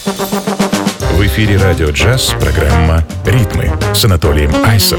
В эфире «Радио Джаз» программа «Ритмы» с Анатолием Айсом.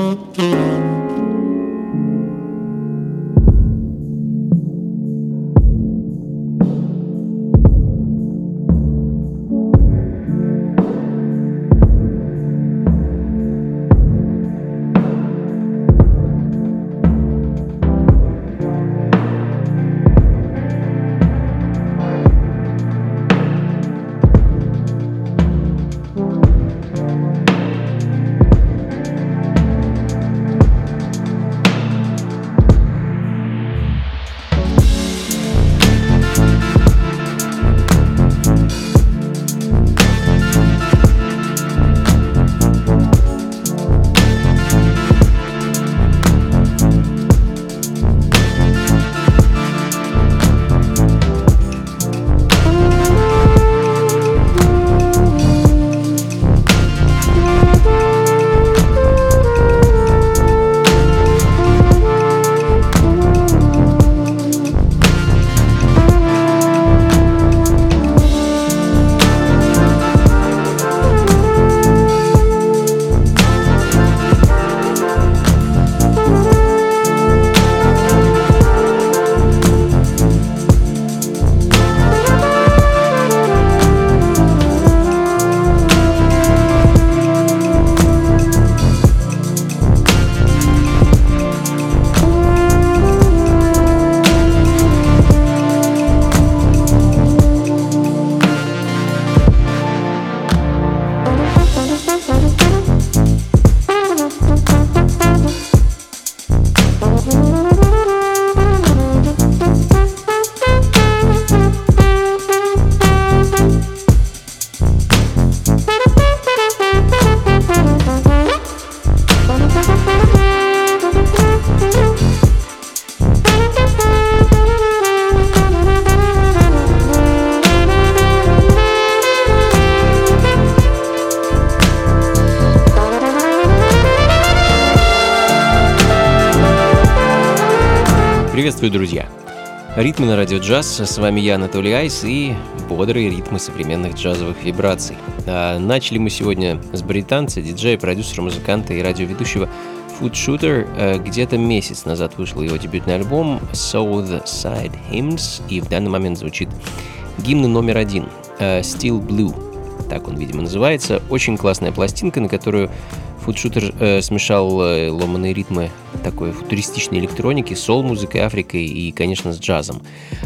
Приветствую, друзья! Ритмы на радио джаз. С вами я, Анатолий Айс, и бодрые ритмы современных джазовых вибраций. Начали мы сегодня с британца, диджея, продюсера, музыканта и радиоведущего Food Shooter. Где-то месяц назад вышел его дебютный альбом South Side Hymns, и в данный момент звучит гимн номер 1 Still Blue. Так он, видимо, называется. Очень классная пластинка, на которую Food Shooter смешал ломаные ритмы такой футуристичной электроники, соул-музыкой, Африкой и, конечно, с джазом.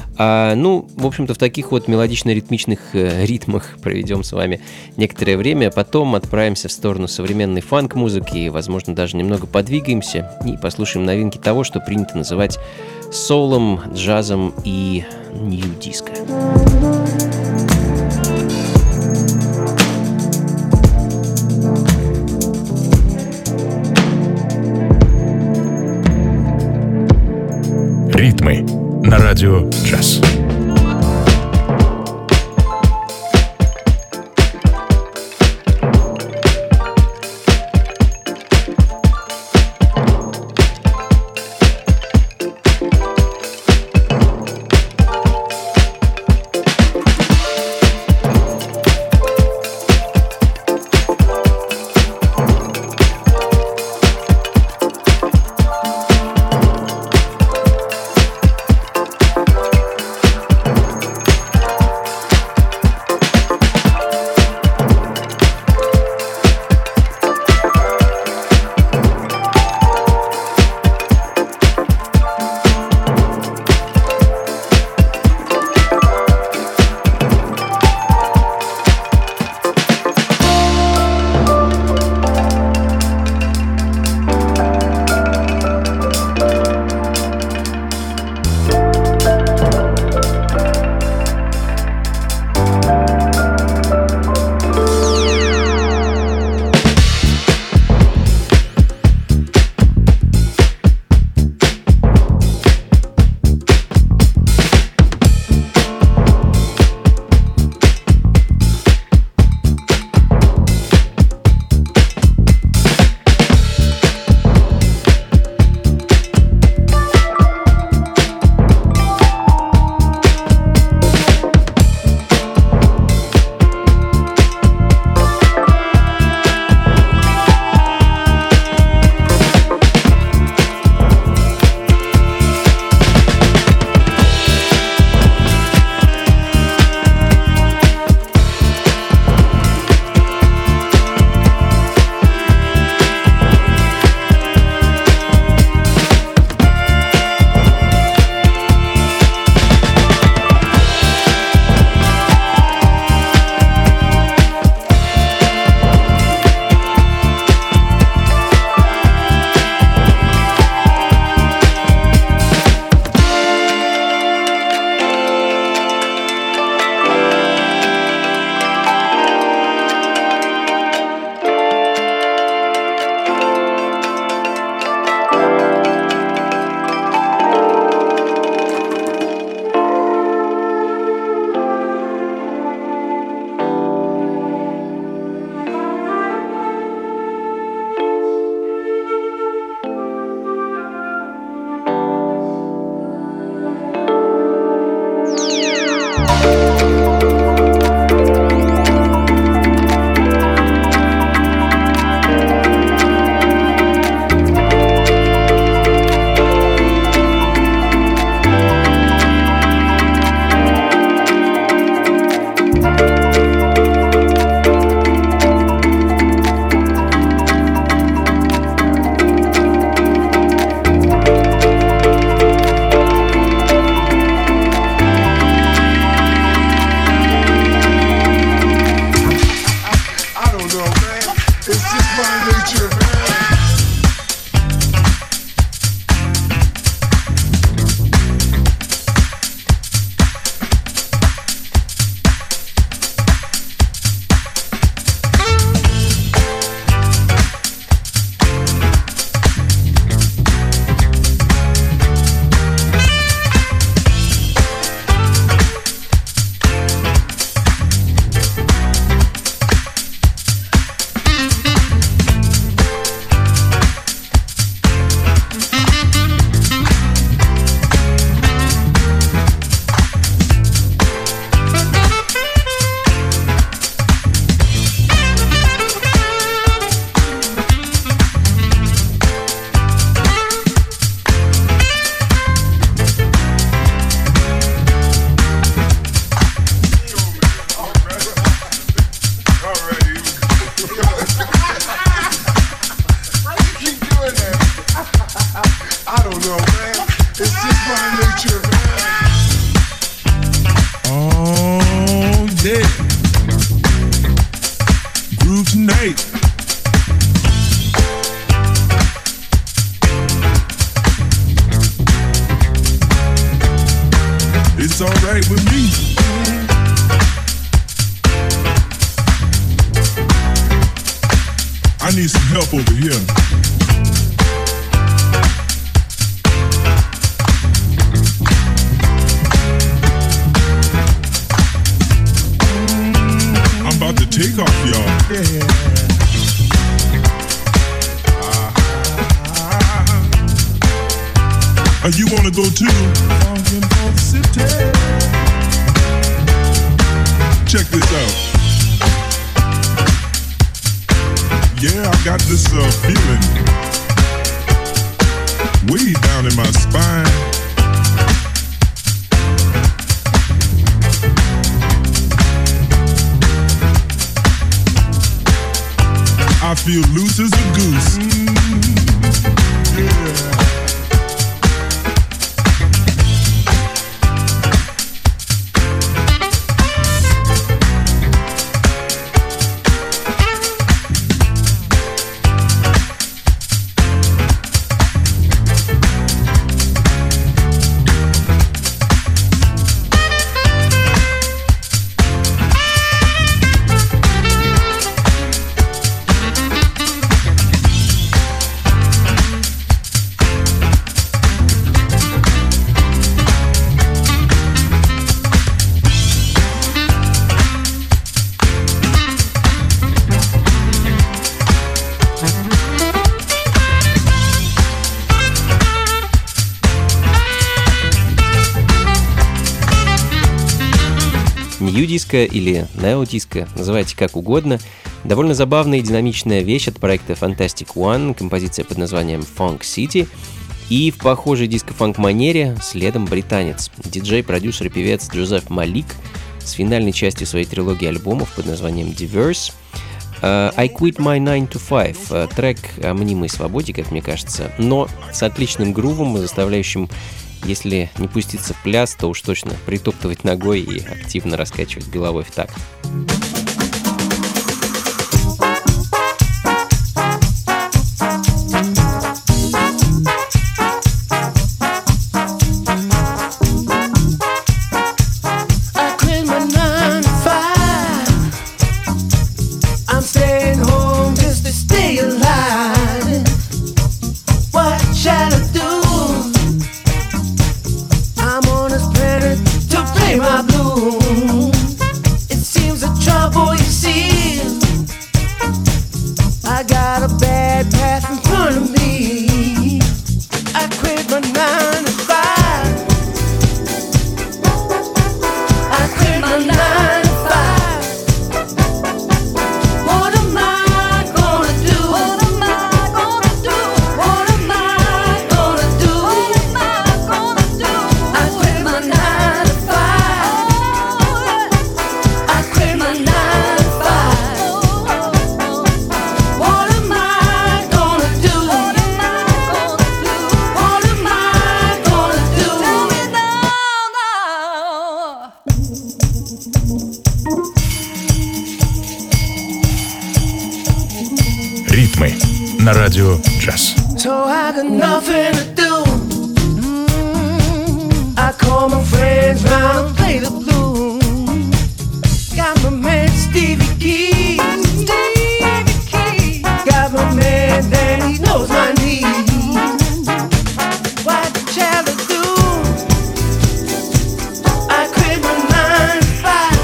В общем-то, в таких вот мелодично-ритмичных ритмах проведем с вами некоторое время. Потом отправимся в сторону современной фанк-музыки, возможно, даже немного подвигаемся и послушаем новинки того, что принято называть соулом, джазом и нью-диско. Ритмы на радио «Джаз». right with me. I need some help over here. I'm about to take off, y'all. Yeah. You wanna go too? Check this out. Yeah, I got this feeling way down in my spine. I feel loose as a goose. Yeah. Нью-диско или нео-диско, называйте как угодно. Довольно забавная и динамичная вещь от проекта Fantastic One, композиция под названием Funk City. И в похожей диско-фанк-манере следом британец, диджей, продюсер и певец Джозеф Малик с финальной частью своей трилогии альбомов под названием Diverse. I Quit My 9 to 5, трек о мнимой свободе, как мне кажется, но с отличным грувом, заставляющим, если не пуститься в пляс, то уж точно притоптывать ногой и активно раскачивать головой в такт. Ритмы на радио Джаз. So I got nothing to do. I call my friends round and play the blues. Got my man Stevie Keys. Got my man Danny knows my needs. What shall I do? I quit my 9 to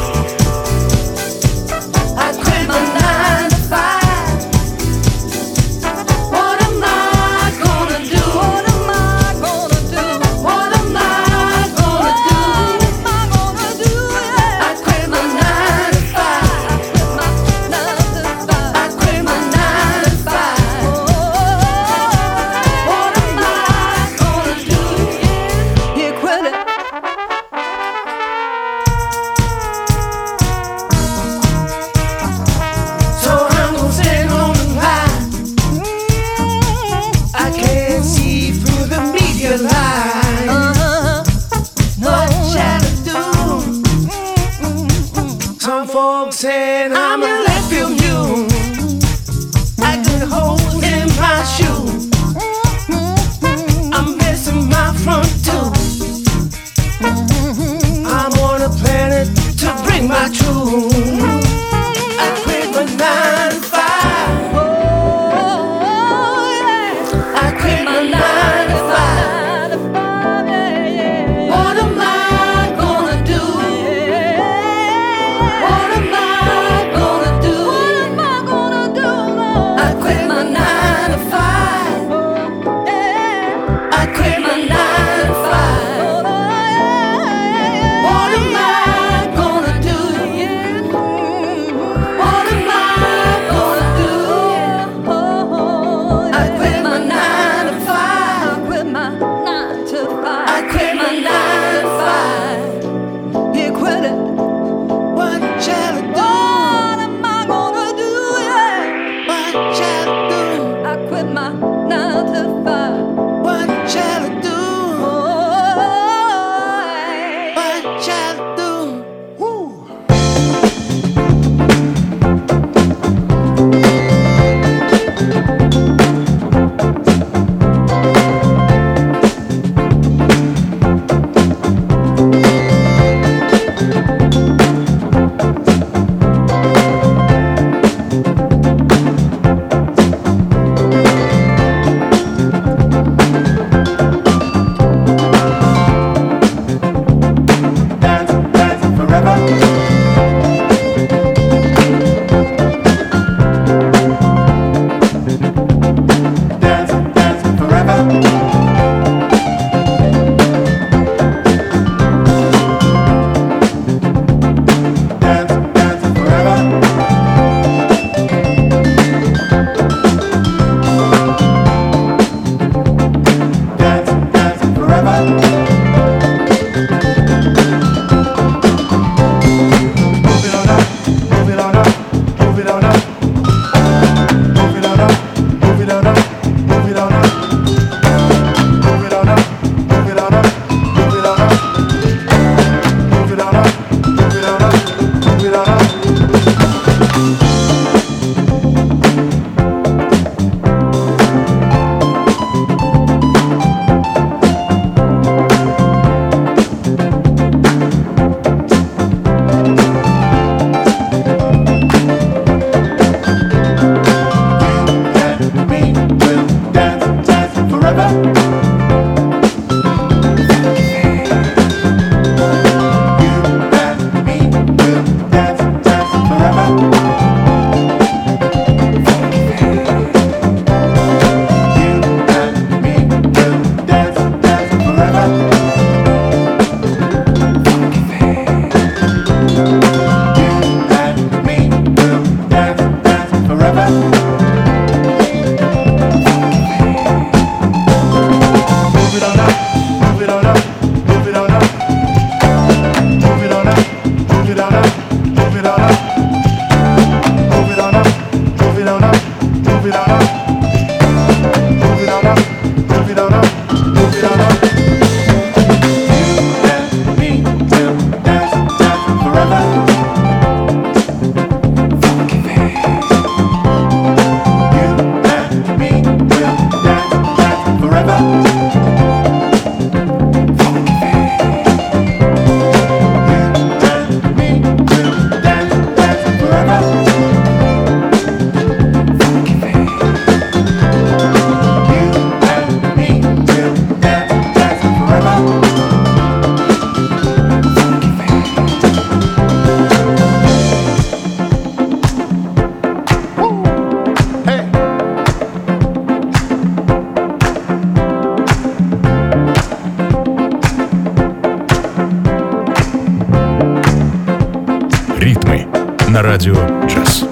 5. I quit my 9 to 5. Saying I'm in Lakeview Mule, I got holes in my shoe. I'm missing my front tooth. I'm my truth. I quit my 9 to 5. I quit my 9 to 5. What am I gonna do? What am I gonna do? I quit my 9 to 5. I quit my 9 to 5. What am I gonna do? What am I gonna do? I quit my 9 to 5. I quit my 9 to 5. I quit my 9 to 5. You quit it. What shall I do? What am I gonna do? What shall I do? I quit my 9 to 5. What shall I do? What shall I do? Woo. Ритмы на радио «Джаз».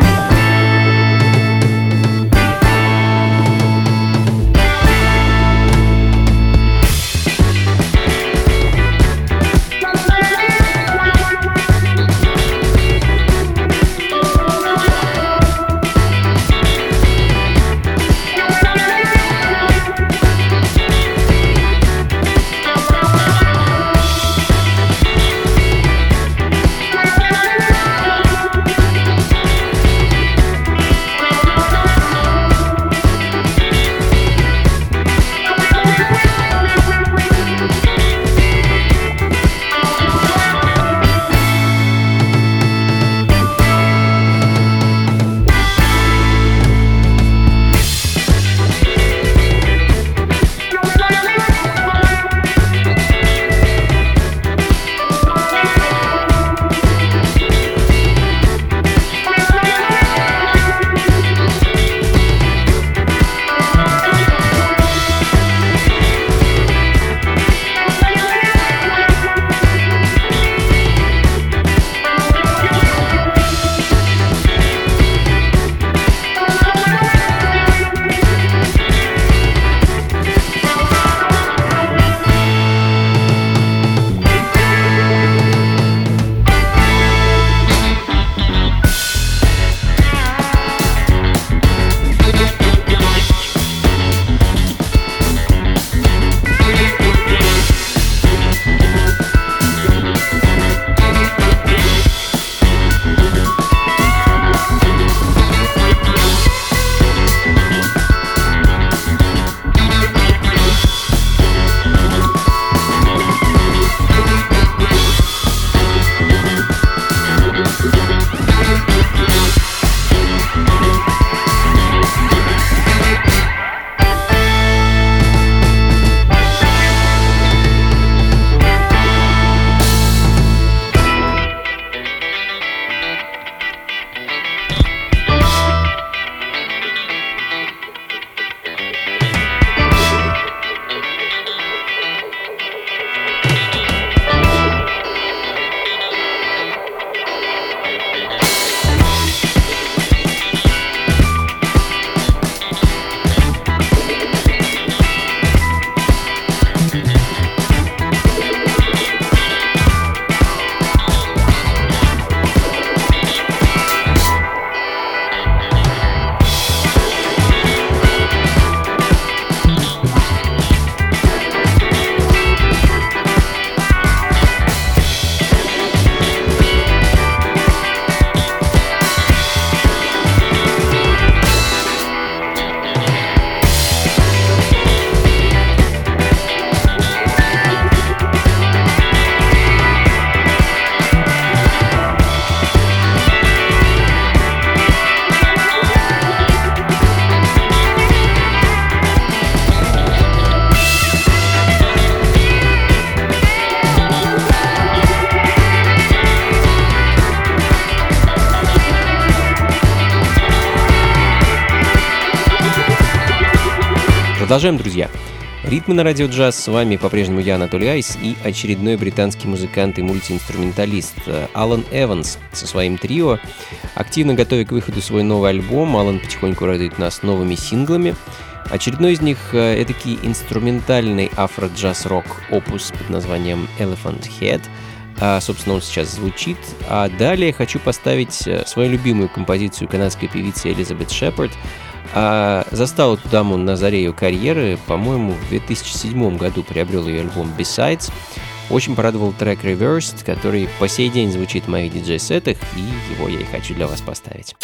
Продолжаем, друзья. Ритмы на радио джаз. С вами по-прежнему я, Анатолий Айс, и очередной британский музыкант и мультиинструменталист Алан Эванс со своим трио. Активно готовя к выходу свой новый альбом, Алан потихоньку радует нас новыми синглами. Очередной из них эдакий инструментальный афро-джаз-рок опус под названием Elephant Head. Собственно, он сейчас звучит. А далее хочу поставить свою любимую композицию канадской певицы Элизабет Шепард. Застал эту даму на заре ее карьеры. По-моему, в 2007 году приобрел ее альбом Besides. Очень порадовал трек Reversed, который по сей день звучит в моих диджей-сетах, и его я и хочу для вас поставить.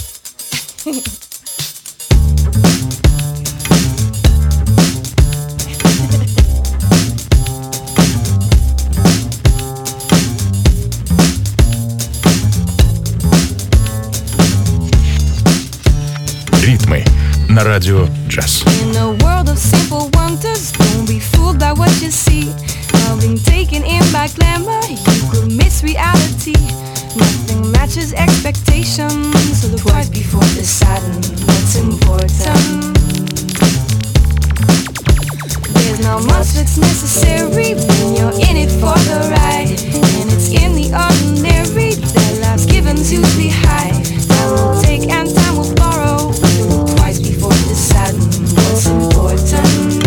Ритмы на радио джаз. In a world of simple wonders, don't be fooled by what you see. Loving taken in by glamour, you could miss reality. Nothing matches expectations, so look twice before deciding what's important. There's not much that's necessary when you're in it for the ride, and it's in the ordinary that life's given's usually high. Time will take and time will borrow, so look twice before deciding what's important.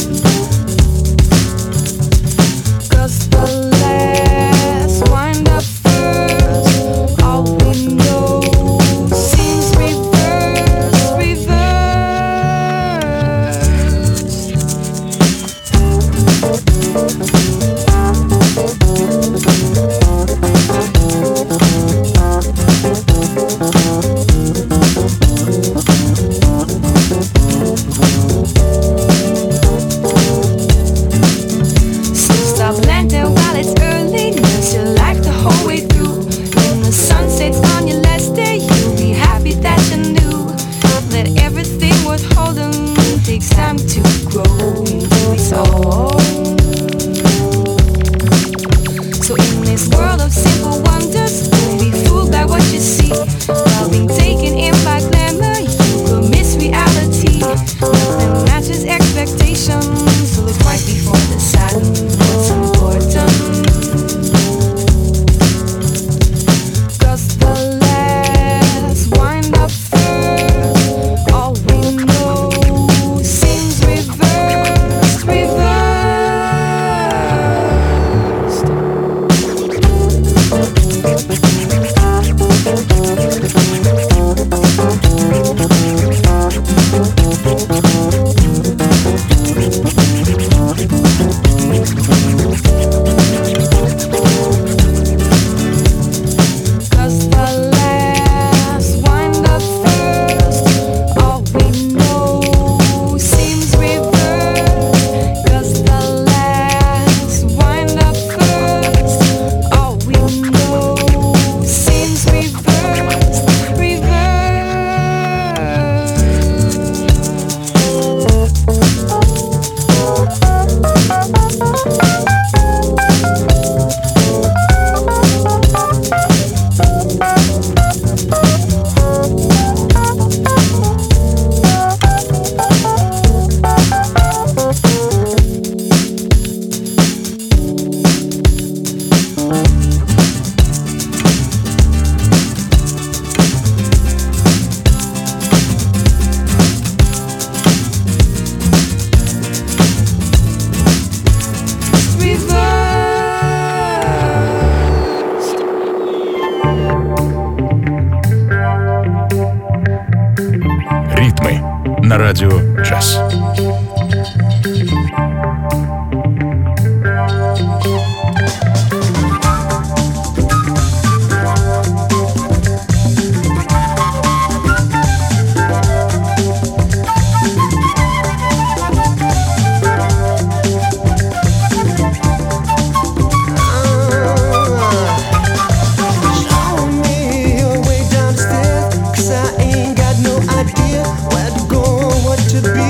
'Cause the last wind up first, all we know seems reversed, reversed. So stop landing while it's early, live your life the whole way through. When the sun sets on your last day, you'll be happy that you knew that everything worth holding takes time to grow into its own. So in this world of simple wonders, don't be fooled by what you see. While being taken in by glamour, you could miss reality. Nothing matches expectations, so look twice before deciding what's important. 'Cause the last wind up first, all we know seems reversed, reversed. Cause the last wind up first, all we know seems reversed. 'Cause the last wind up first, all we know seems reversed, reversed. Ритмы на радио джаз. Show me your way downstairs, 'cause I ain't got no idea where to go or what to be.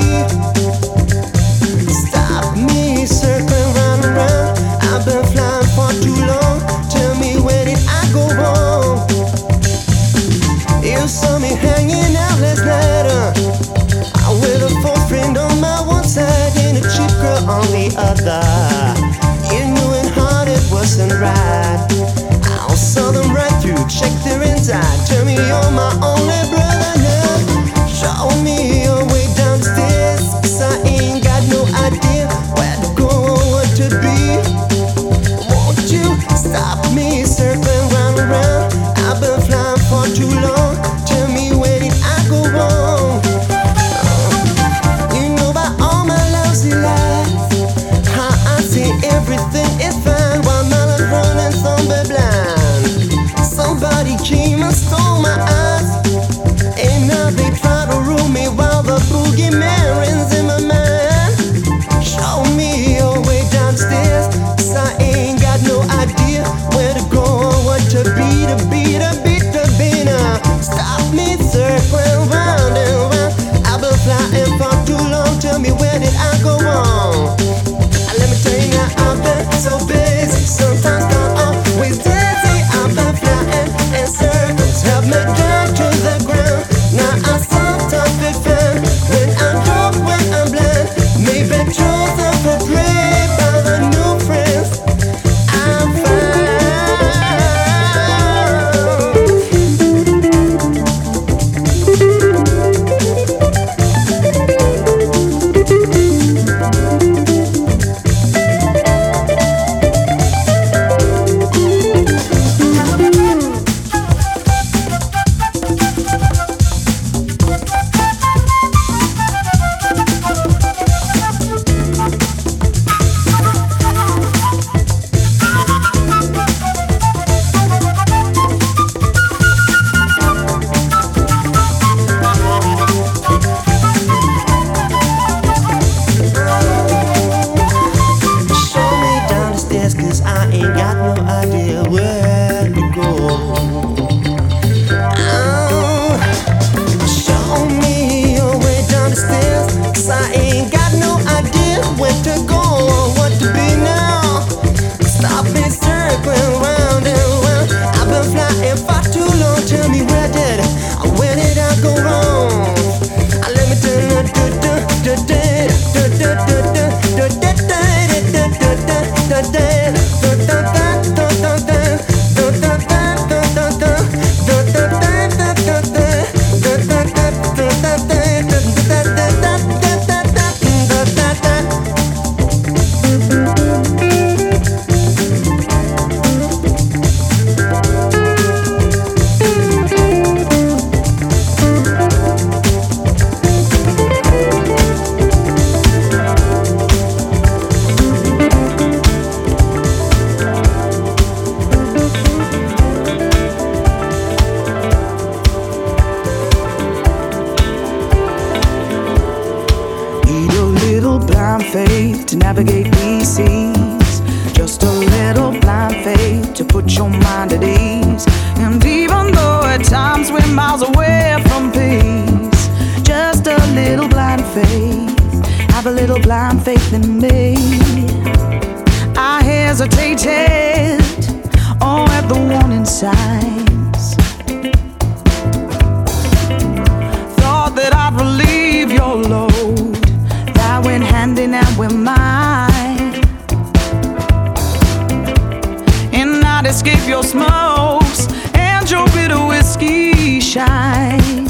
Stop me circling round and round. I've been flying for too long. Tell me, where did I go wrong? You saw me hanging out last night with a false friend on my one side. cheap girl on the other. You knew in heart it wasn't right. I saw them right through, check their inside. Tell me you're my only brother now. Show me your way downstairs, 'cause I ain't got no idea where to go or what to be. Won't you stop me circling round and round? I've been flying for too long. Tell me where did I go wrong? You know about all my lousy life, how I see everything is fine while my life running somewhere blind. Somebody came and stole my eyes, and now they try to rule me while the boogeyman rings in my mind. Show me your way downstairs, 'cause I ain't got no idea where to go or what to be, to be, to be, to be now. Stop me circling round and round. I've been flying for too long. Tell me where did I go wrong? Let me tell you now, I've been so busy, sometimes not always dizzy. I've been flying in circles, help me down to the ground. Now I sometimes feel fine when I'm drunk, when I'm blind. Maybe chosen for prey by the new friends I found. Show me down the stairs, 'cause I ain't got no idea where to go. Oh, show me your way down the stairs, 'cause I ain't got no idea where to go or what to be now. Stop me circling round and round. I've been flying for too long. Tell me where did I go wrong? Let me tell you, Need a little blind faith to navigate these seas. Just a little blind faith to put your mind at ease. And even though at times we're miles away from peace, just a little blind faith. Have a little blind faith in me. I hesitated, oh, at the warning signs. Thought that I'd relieve your load that went hand in hand with mine, and I'd escape your smokes and your bitter whiskey shine.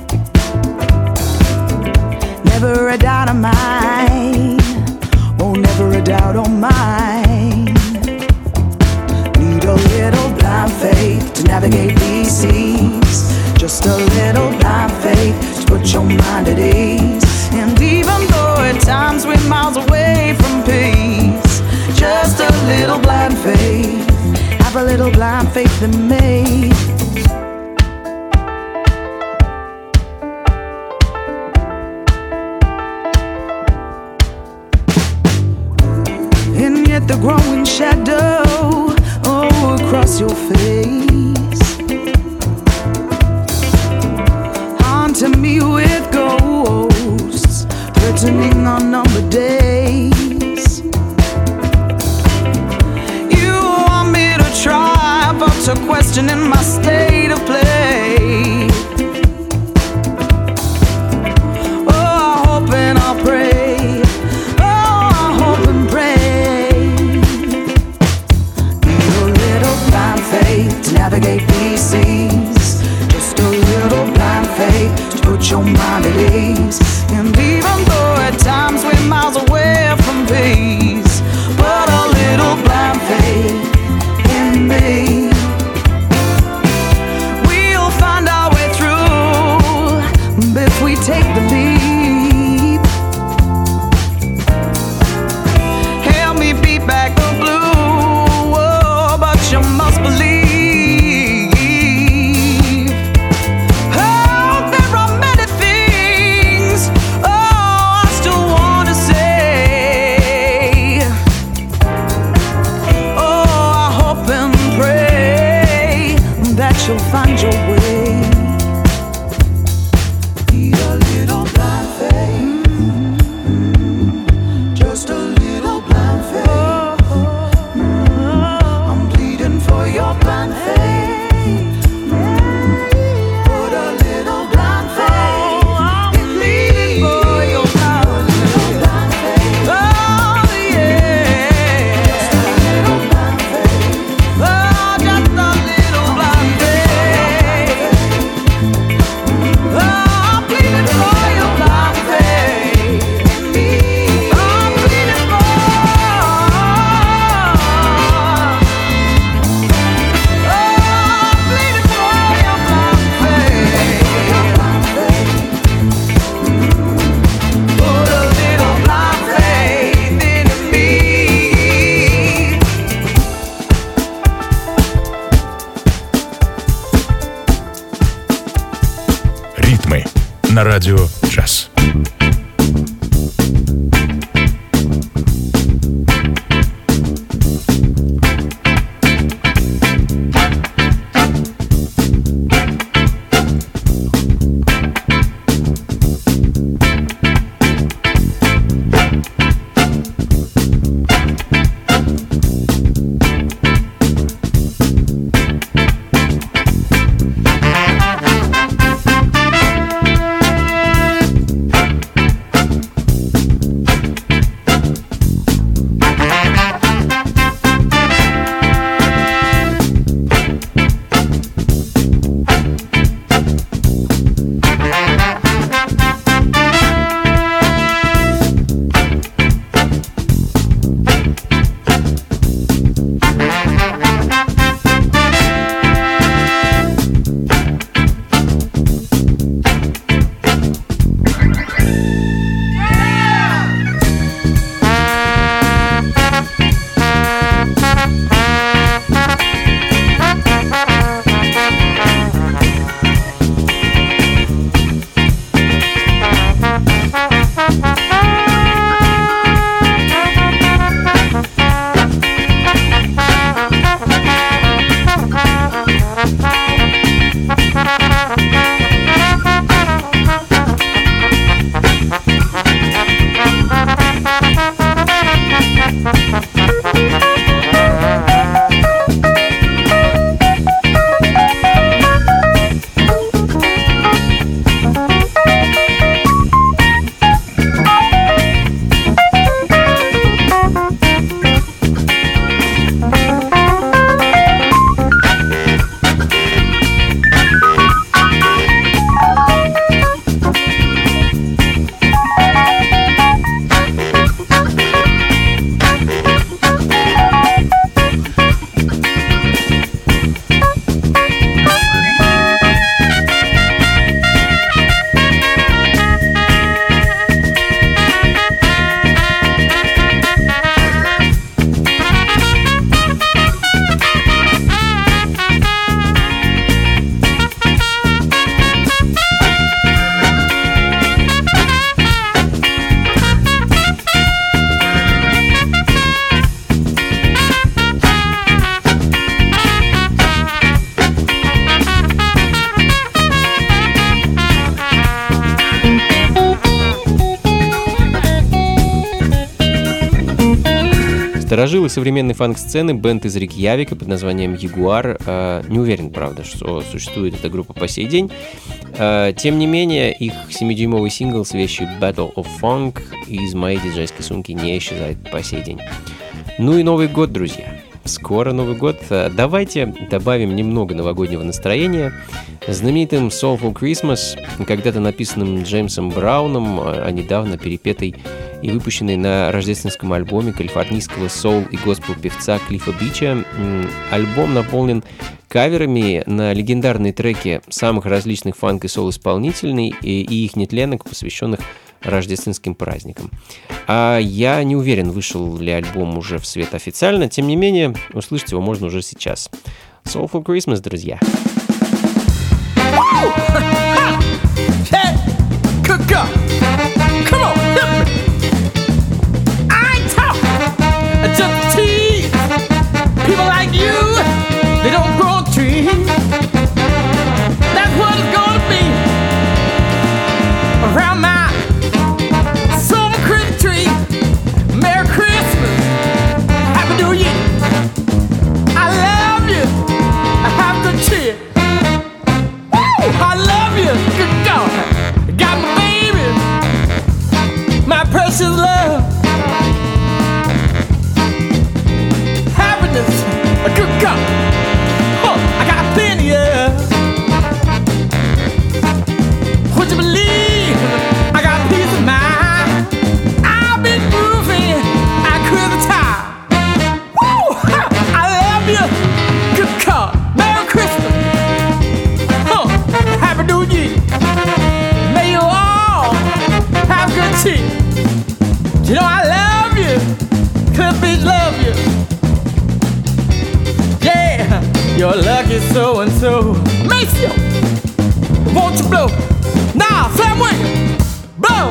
Never a doubt of mine, oh, never a doubt on mine. Need a little blind faith to navigate these seas. Just a little blind faith to put your mind at ease. And even though at times we're miles away from peace, just a little blind faith. Have a little blind faith in me. And yet the growing shadow, oh, across your face, haunting me with ghosts, threatening on numbered days. You want me to try, but to questioning my state of play. Oh, I hope and I pray, oh, take the leap. Help me beat back the blue, oh, but you must believe. Oh, there are many things, oh, I still want to say. Oh, I hope and pray that you'll find your way. Need a little blind faith, just a little blind faith. I'm pleading for your blind faith. Put a little blind faith in me. For your blind faith. Oh yeah, just a little blind faith. Oh, just a little blind faith. Oh, I'm pleading for your blind faith in me. I'm pleading for. Put a little blind faith in me. Ритмы на радио «Джаз». Старожилы современной фанк-сцены, бэнд из Рейкьявика под названием Ягуар. Не уверен, правда, что существует эта группа по сей день. Тем не менее, их 7-дюймовый сингл с вещью Battle of Funk из моей диджейской сумки не исчезает по сей день. Ну и Новый год, друзья. Скоро Новый год. Давайте добавим немного новогоднего настроения. Знаменитым Soulful Christmas, когда-то написанным Джеймсом Брауном, а недавно перепетой и выпущенный на рождественском альбоме калифорнийского соул и госпел певца Клиффа Бича. Альбом наполнен каверами на легендарные треки самых различных фанк и сол-исполнителей и их нетленок, посвященных рождественским праздникам. А я не уверен, вышел ли альбом уже в свет официально, тем не менее, услышать его можно уже сейчас. Soulful Christmas, друзья! People like you, they don't grow trees. That's what it's gonna be around my summer Christmas tree. Merry Christmas, Happy New Year. I love you, I have good cheer. Woo! I love you, good God. Got my baby, my precious love. A good God, oh, I got plenty of. Would you believe I got peace of mind? I've been moving, I couldn't tire. Woo! I love you, good God. Merry Christmas, oh, Happy New Year. May you all have good cheer. You know I love you, Cliff Beach love you. Yeah, you're lucky so-and-so. Maceo, won't you blow? Now, Sam Williams, blow.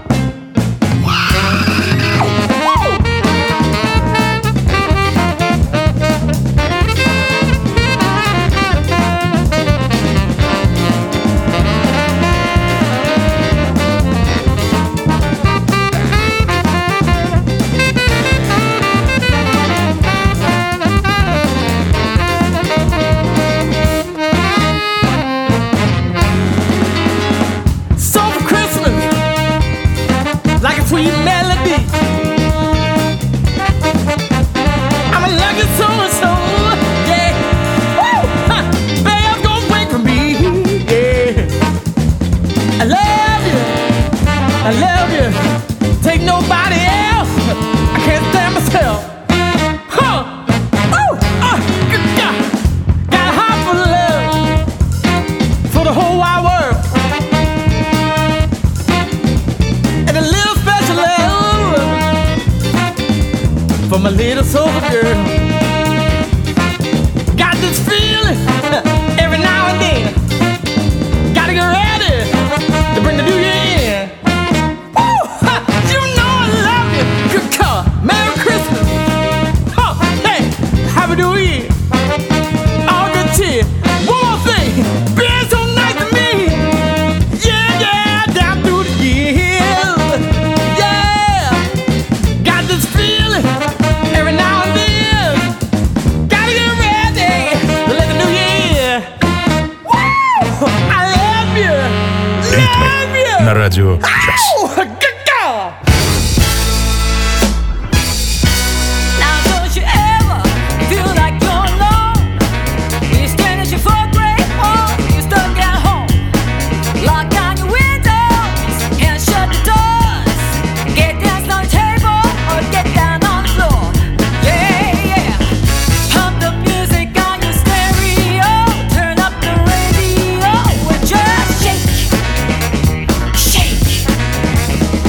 Sweet melody. I'm a lucky so-and-so, yeah. Woo! Huh. Bells gonna wait for me, yeah. I love you, take nobody else. I can't stand myself. Huh. Ooh, good God. Got a heart for love, for the whole wide world. And a little for my little soul girl. Got this feeling every now and then. Gotta get ready to bring the new year in. Woo! You know I love you. Good God. Merry Christmas. Oh, hey, Happy New Year. All good cheer. One more thing. Being so nice to me. Yeah, down through the years. Yeah. Got this feeling every now and then. Gotta get ready to let the new year. Woo! I love you. Love you. На радио Джаз. Good God. Now don't you ever feel like you're alone? When you're staring at your fourth grade home, you're stuck at home. Lock down your windows and shut the doors. Get down on the table or get down on the floor. Yeah. Pump the music on your stereo. Turn up the radio and just shake.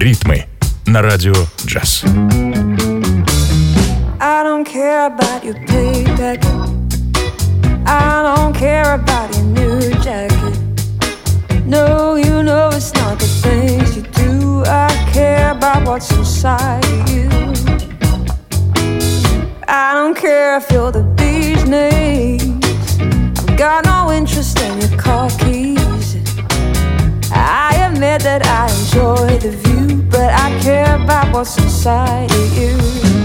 Ритмы на радио «Джаз». I don't care about your payback. I don't care about your new jacket. No, you know it's not the things you do. I care about what's inside of you. I don't care if you're the bee's knees. I've got no interest in your car keys. I admit that I enjoy the view, but I care about what's inside of you.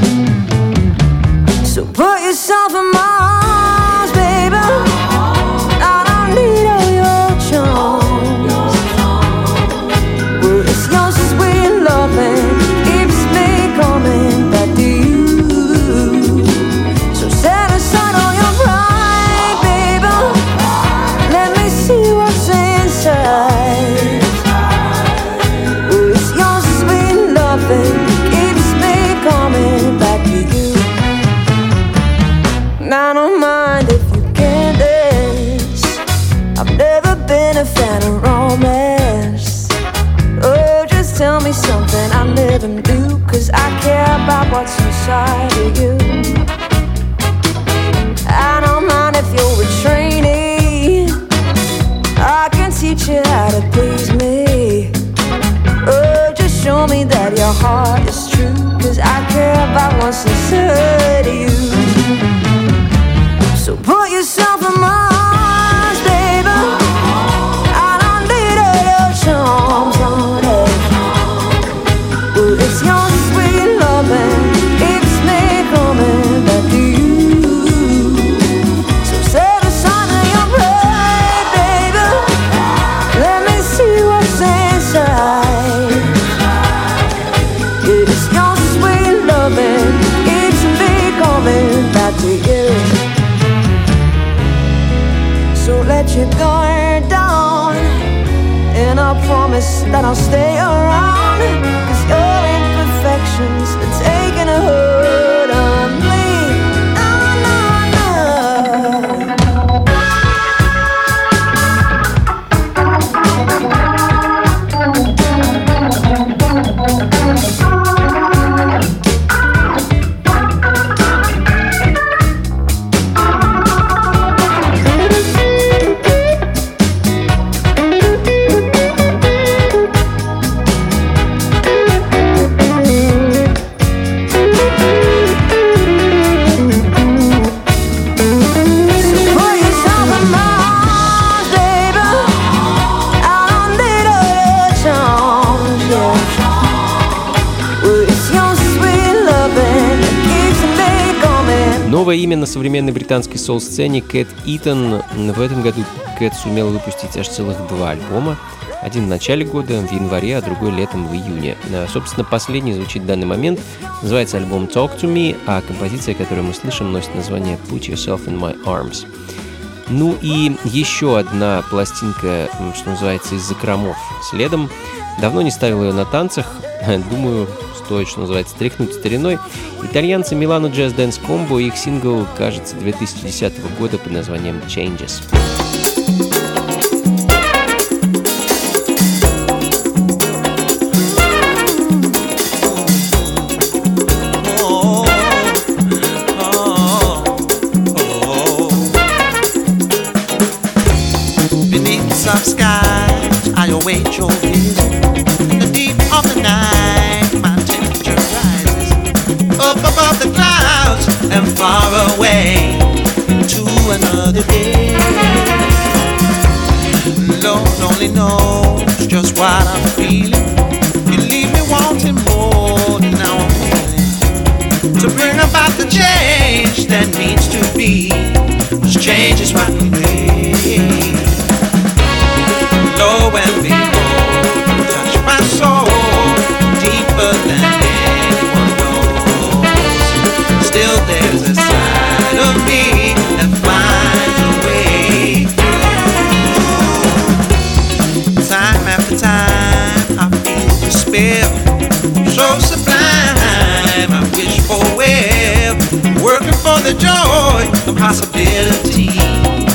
So put yourself in my arms, baby. I don't need all your charms. Well, it's your sweet loving keeps me coming back to you. So set aside all your pride, baby. Let me see what's inside. Well, it's your sweet loving keeps me coming back to you. I don't mind if you can't dance. I've never been a fan of romance. Oh, just tell me something I never knew, 'cause I care about what's inside of you. I don't mind if you're a trainee. I can teach you how to please me. Oh, just show me that your heart is true, 'cause I care about what's inside of you. So put yourself in my arms, baby. I don't need all your charms on it. Well, it's your sweet loving keeps me coming back to you. So set aside your pride, baby. Let me see what's inside. It's your sweet loving keeps me coming back to you. So let your guard down, and I promise that I'll stay around, 'cause your imperfections are taking a hold on me. Oh, no, Новое имя на современной британской соул-сцене Кэт Итон. В этом году Кэт сумела выпустить аж целых 2 альбома. Один в начале года, в январе, а другой летом, в июне. Собственно, последний звучит в данный момент. Называется альбом Talk to Me, а композиция, которую мы слышим, носит название Put Yourself in My Arms. Ну и еще одна пластинка, что называется, из закромов следом. Давно не ставил ее на танцах. Думаю, стоит, что называется, тряхнуть стариной. Итальянцы Milano Jazz Dance Combo, их сингл, кажется, 2010 года под названием Changes. Soft skies, I await your visit. In the deep of the night, my temperature rises. Up above the clouds and far away into another day. Lord only knows just what I'm feeling. You leave me wanting more than now I'm willing to bring about the change that needs to be. 'Cause change is what we need. Lo and behold, touch my soul deeper than anyone knows. Still there's a side of me that finds a way through. Time after time I feel despair, so sublime I wish for well, working for the joy of possibility.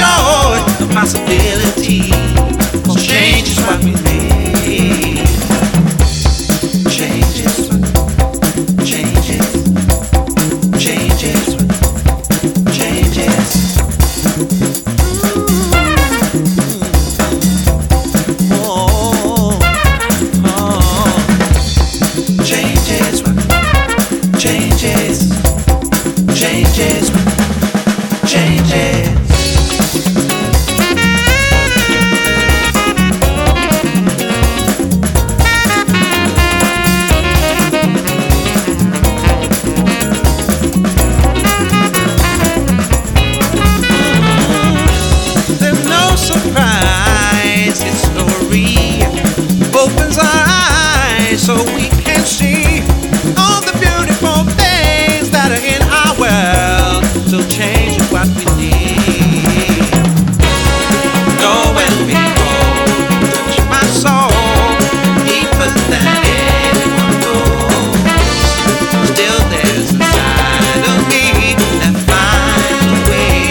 joy, the possibility. 'Cause change is what we need. Change is what, change is, change is what, change is. Oh, oh. Changes, changes, changes, changes. There's no surprise. His story opens our eyes so we can see all the beautiful things that are in our world. So change is what we need. Go and behold, touch my soul deeper than anyone knows. Still there's inside of me that finds a way.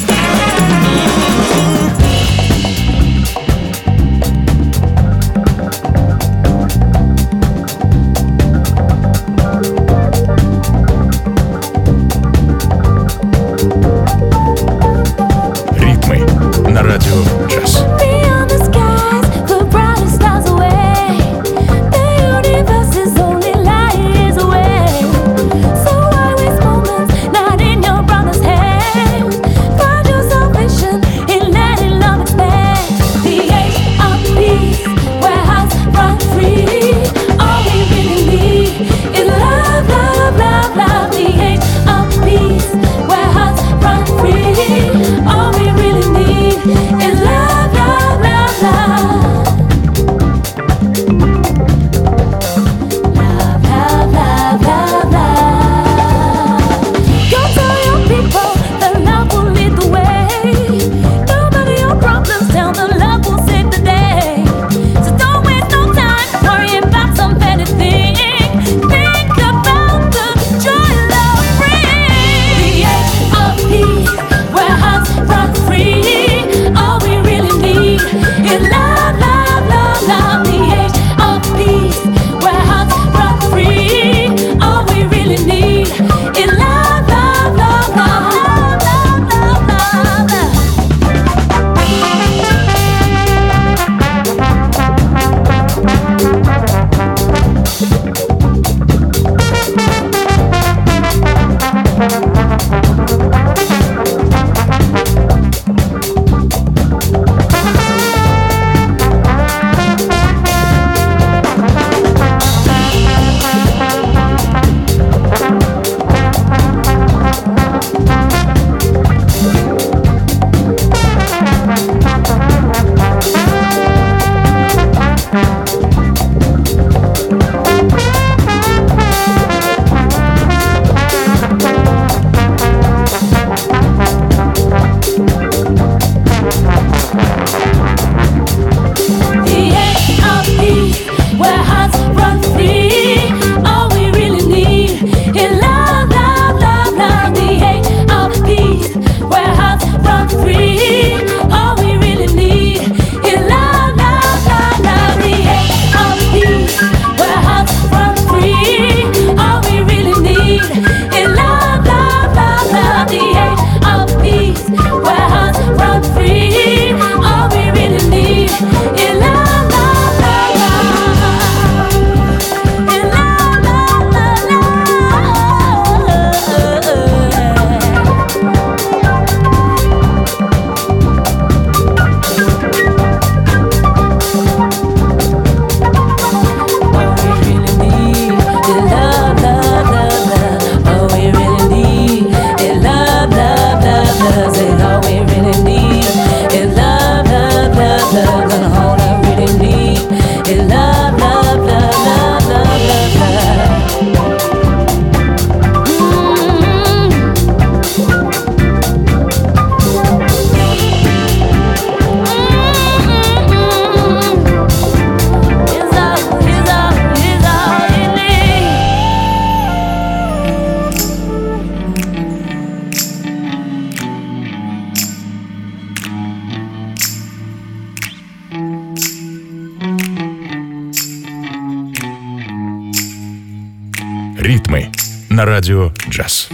Ритмы на радио джаз. Beyond the skies, the brightest stars away. The universe is only light years away. So why waste moments not in your brother's hand? Find your salvation in letting love expand. The age of peace, where hearts run free. All we really need is love, love, love, love. The age of peace, where hearts run free. All we really need is love. Ритмы на радио «Джаз».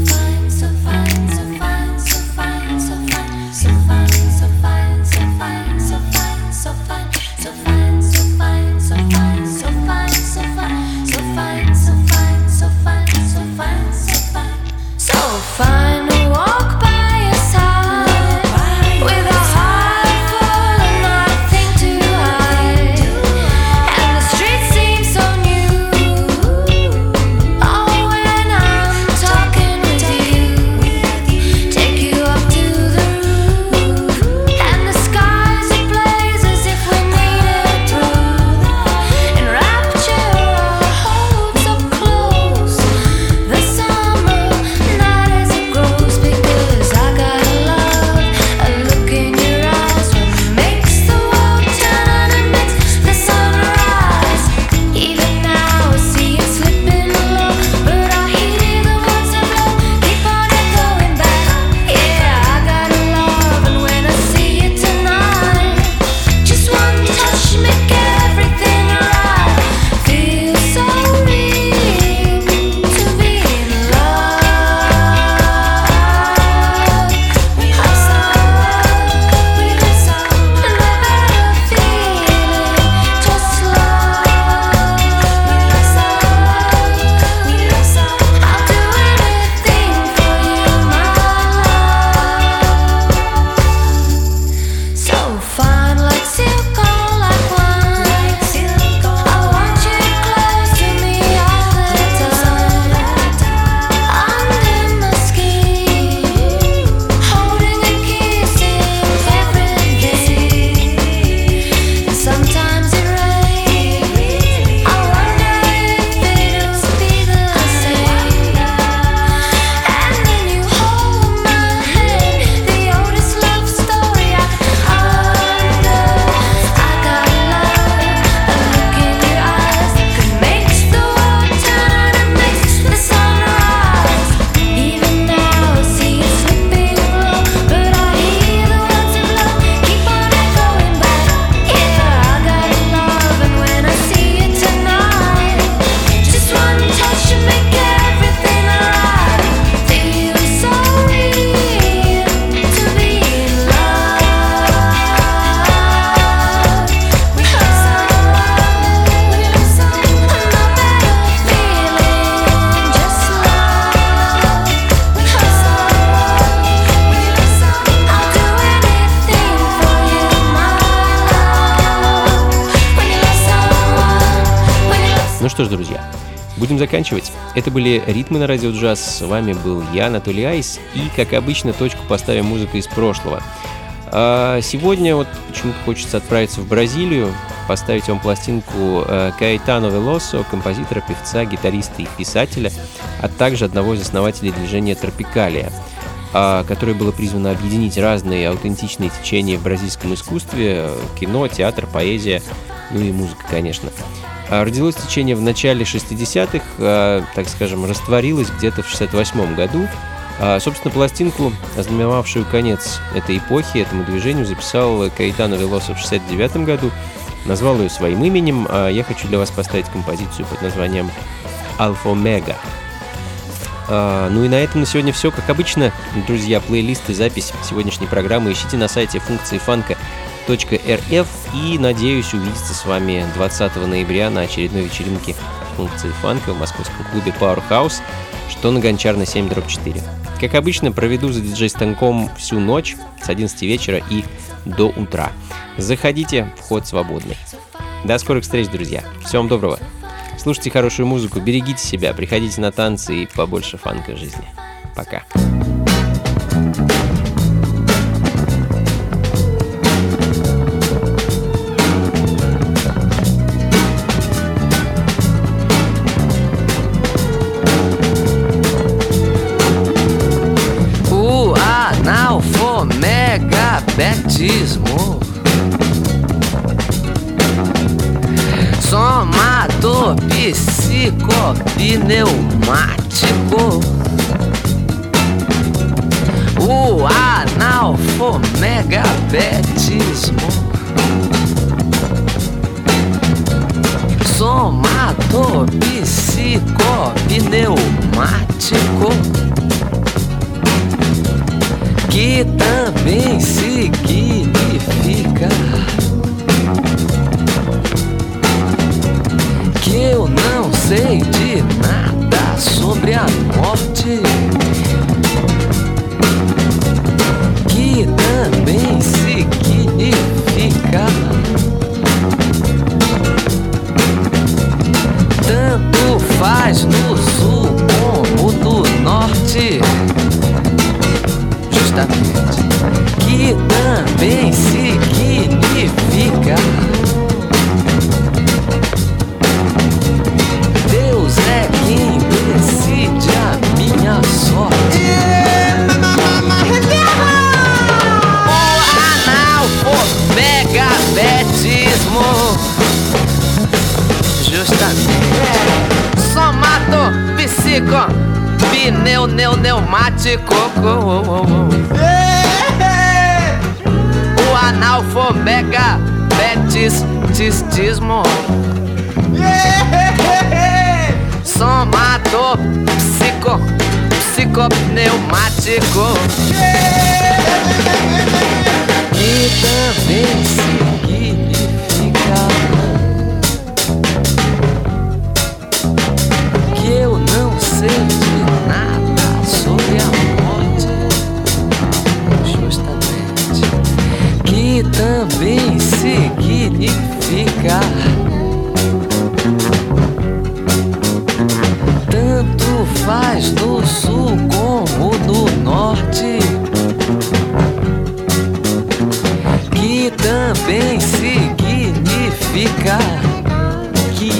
Ну что ж, друзья, будем заканчивать. Это были «Ритмы на радио джаз». С вами был я, Анатолий Айс. И, как обычно, точку поставим музыку из прошлого. Сегодня вот почему-то хочется отправиться в Бразилию, поставить вам пластинку Каэтано Велосо, композитора, певца, гитариста и писателя, а также одного из основателей движения «Тропикалия», которое было призвано объединить разные аутентичные течения в бразильском искусстве: кино, театр, поэзия, ну и музыка, конечно. Родилось течение в начале 60-х, так скажем, растворилось где-то в 68 году. Собственно, пластинку, ознаменовавшую конец этой эпохи, этому движению, записал Каэтано Велосо в 69 году, назвал ее своим именем. Я хочу для вас поставить композицию под названием «Альфа Омега». Ну и на этом на сегодня все. Как обычно, друзья, плейлист и запись сегодняшней программы ищите на сайте функции фанка.рф, и надеюсь увидеться с вами 20 ноября на очередной вечеринке функции фанка в московском клубе Powerhouse, что на Гончарной 7/4. Как обычно, проведу за диджей-станком всю ночь с 11 вечера и до утра. Заходите, вход свободный. До скорых встреч, друзья. Всего вам доброго. Слушайте хорошую музыку, берегите себя, приходите на танцы и побольше фанка в жизни. Пока. Analfabetismo, somador psicopneumático. O analfabetismo, somador psicopneumático. psicopneumático, que também significa que eu não sei de nada sobre a morte, que também significa tanto faz no sul como no norte, justamente, que também significa Deus é quem decide a minha sorte. O analfabetismo, justamente, somato psico pneumático. O analfabetismo, somato psicopneumático, que também significa que eu não sei de nada sobre a morte, justamente, que também significa tanto faz no sul como no norte, que também significa que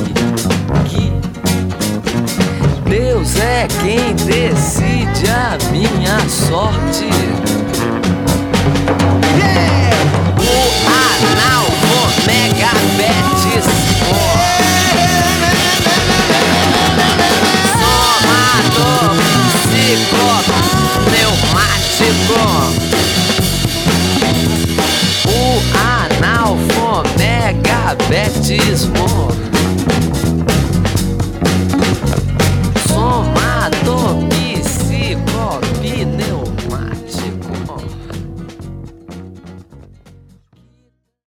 Deus é quem decide a minha sorte. O analfabetismo, somato psicopneumático. O analfabetismo,